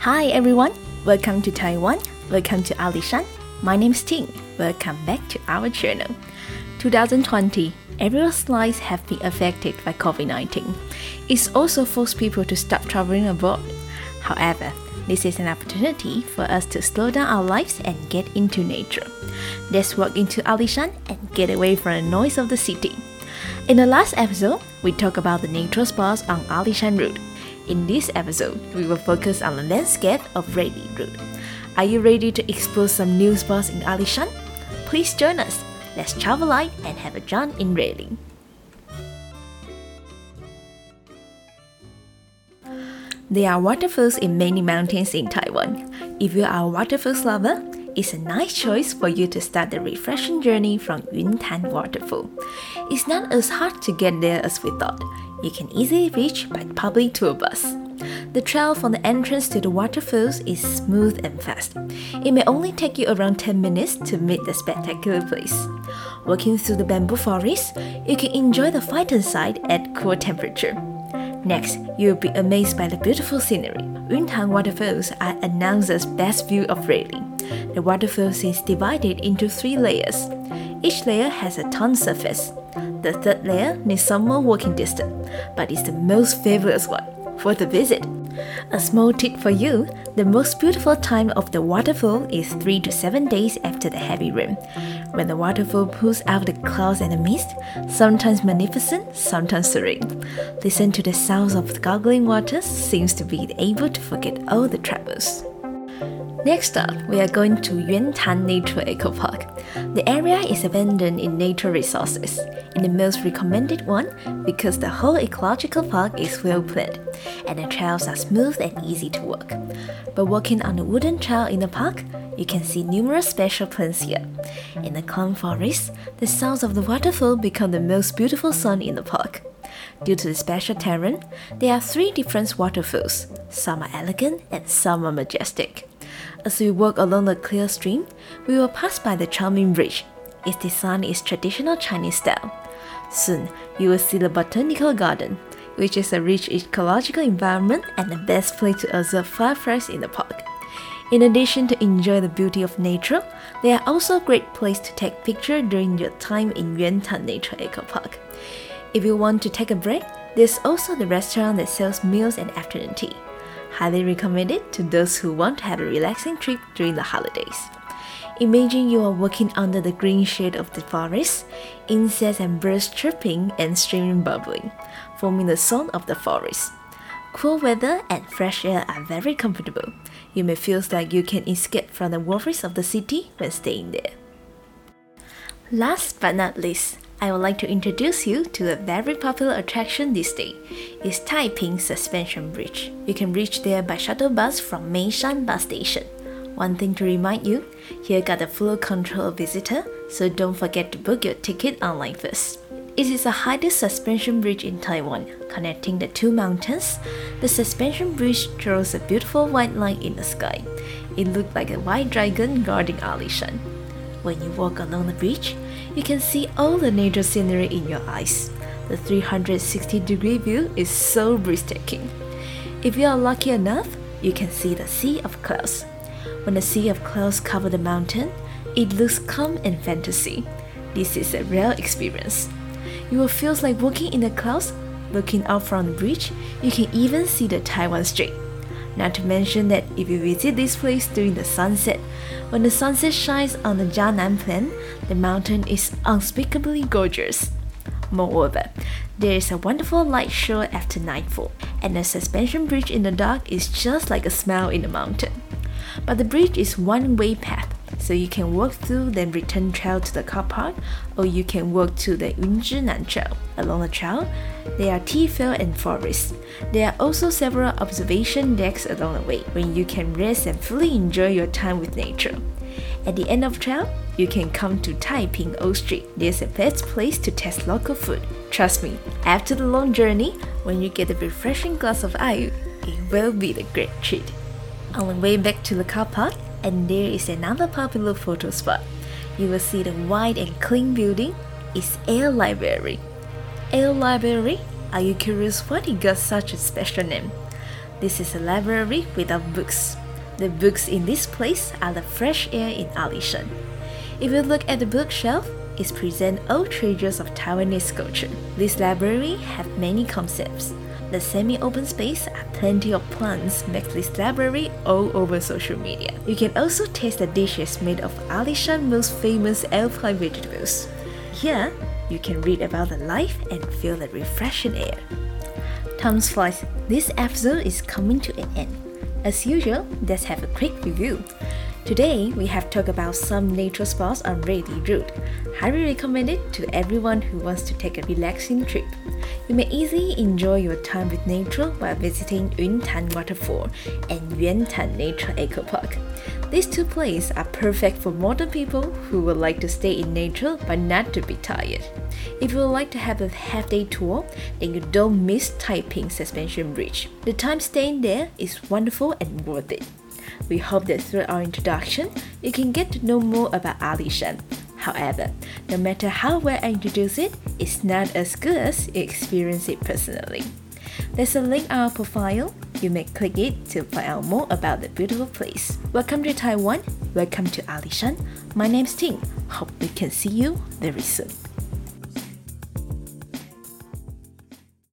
Hi everyone, welcome to Taiwan, welcome to Alishan. My name is Ting, welcome back to our channel. 2020, everyone's lives have been affected by COVID-19. It's also forced people to stop traveling abroad. However, this is an opportunity for us to slow down our lives and get into nature. Let's walk into Alishan and get away from the noise of the city. In the last episode, we talked about the nature spots on Alishan Road. In this episode, we will focus on the landscape of Railly Road. Are you ready to explore some new spots in Alishan? Please join us. Let's travel light and have a jaunt in Railly. There are waterfalls in many mountains in Taiwan. If you are a waterfalls lover, it's a nice choice for you to start the refreshing journey from Yuntan Waterfall. It's not as hard to get there as we thought. You can easily reach by public tour bus. The trail from the entrance to the waterfalls is smooth and fast. It may only take you around 10 minutes to meet the spectacular place. Walking through the bamboo forest, you can enjoy the mountainside at cool temperature. Next, you'll be amazed by the beautiful scenery. Yuntan Waterfalls are announced best view of Railly. The waterfalls is divided into 3 layers. Each layer has a tongue surface. The third layer needs some more walking distance, but it's the most fabulous one for the visit. A small tip for you, the most beautiful time of the waterfall is 3 to 7 days after the heavy rain. When the waterfall pulls out the clouds and the mist, sometimes magnificent, sometimes serene. Listen to the sounds of the gargling waters, seems to be able to forget all the troubles. Next up, we are going to Yuntan Nature Eco Park. The area is abundant in nature resources, and the most recommended one because the whole ecological park is well planned, and the trails are smooth and easy to walk. By walking on the wooden trail in the park, you can see numerous special plants here. In the calm forest, the sounds of the waterfall become the most beautiful sound in the park. Due to the special terrain, there are 3 different waterfalls. Some are elegant and some are majestic. As we walk along the clear stream, we will pass by the charming bridge. Its design is traditional Chinese style. Soon, you will see the botanical garden, which is a rich ecological environment and the best place to observe fireflies in the park. In addition to enjoy the beauty of nature, they are also a great place to take pictures during your time in Yuntan Nature Eco Park. If you want to take a break, there's also the restaurant that sells meals and afternoon tea. Highly recommended to those who want to have a relaxing trip during the holidays. Imagine you are walking under the green shade of the forest, insects and birds chirping and streaming bubbling, forming the song of the forest. Cool weather and fresh air are very comfortable. You may feel like you can escape from the worries of the city when staying there. Last but not least, I would like to introduce you to a very popular attraction this day. It's Taiping Suspension Bridge. You can reach there by shuttle bus from Meishan bus station. One thing to remind you, here got the full control of visitor, so don't forget to book your ticket online first. It is the highest suspension bridge in Taiwan, connecting the 2 mountains. The suspension bridge draws a beautiful white line in the sky. It looks like a white dragon guarding Alishan. When you walk along the bridge, you can see all the nature scenery in your eyes. The 360-degree view is so breathtaking. If you are lucky enough, you can see the sea of clouds. When the sea of clouds covers the mountain, it looks calm and fantasy. This is a rare experience. You will feel like walking in the clouds. Looking out from the bridge, you can even see the Taiwan Strait. Not to mention that if you visit this place during the sunset, when the sunset shines on the Jianan Plain, the mountain is unspeakably gorgeous. Moreover, there is a wonderful light show after nightfall, and the suspension bridge in the dark is just like a smile in the mountain. But the bridge is one-way path, so you can walk through then return trail to the car park, or you can walk to the Yunzhinan Trail. Along the trail, there are tea fields and forests. There are also several observation decks along the way, where you can rest and fully enjoy your time with nature. At the end of the trail, you can come to Taiping Old Street. There's a best place to taste local food. Trust me, after the long journey, when you get a refreshing glass of ayu, it will be the great treat. On the way back to the car park, and there is another popular photo spot. You will see the wide and clean building. It's Air Library. Air Library? Are you curious why it got such a special name? This is a library without books. The books in this place are the fresh air in Alishan. If you look at the bookshelf, it presents old treasures of Taiwanese culture. This library has many concepts. The semi-open space and plenty of plants make this library all over social media. You can also taste the dishes made of Alishan's most famous alpine vegetables. Here, you can read about the life and feel the refreshing air. Time flies. This episode is coming to an end. As usual, let's have a quick review. Today, we have talked about some nature spots on Reili Road. Highly recommend it to everyone who wants to take a relaxing trip. You may easily enjoy your time with nature while visiting Yuntan Waterfall and Yuantan Nature Eco Park. These two places are perfect for modern people who would like to stay in nature but not to be tired. If you would like to have a half-day tour, then you don't miss Taiping Suspension Bridge. The time staying there is wonderful and worth it. We hope that through our introduction, you can get to know more about Alishan. However, no matter how well I introduce it, it's not as good as you experience it personally. There's a link on our profile. You may click it to find out more about the beautiful place. Welcome to Taiwan. Welcome to Alishan. My name's Ting. Hope we can see you very soon.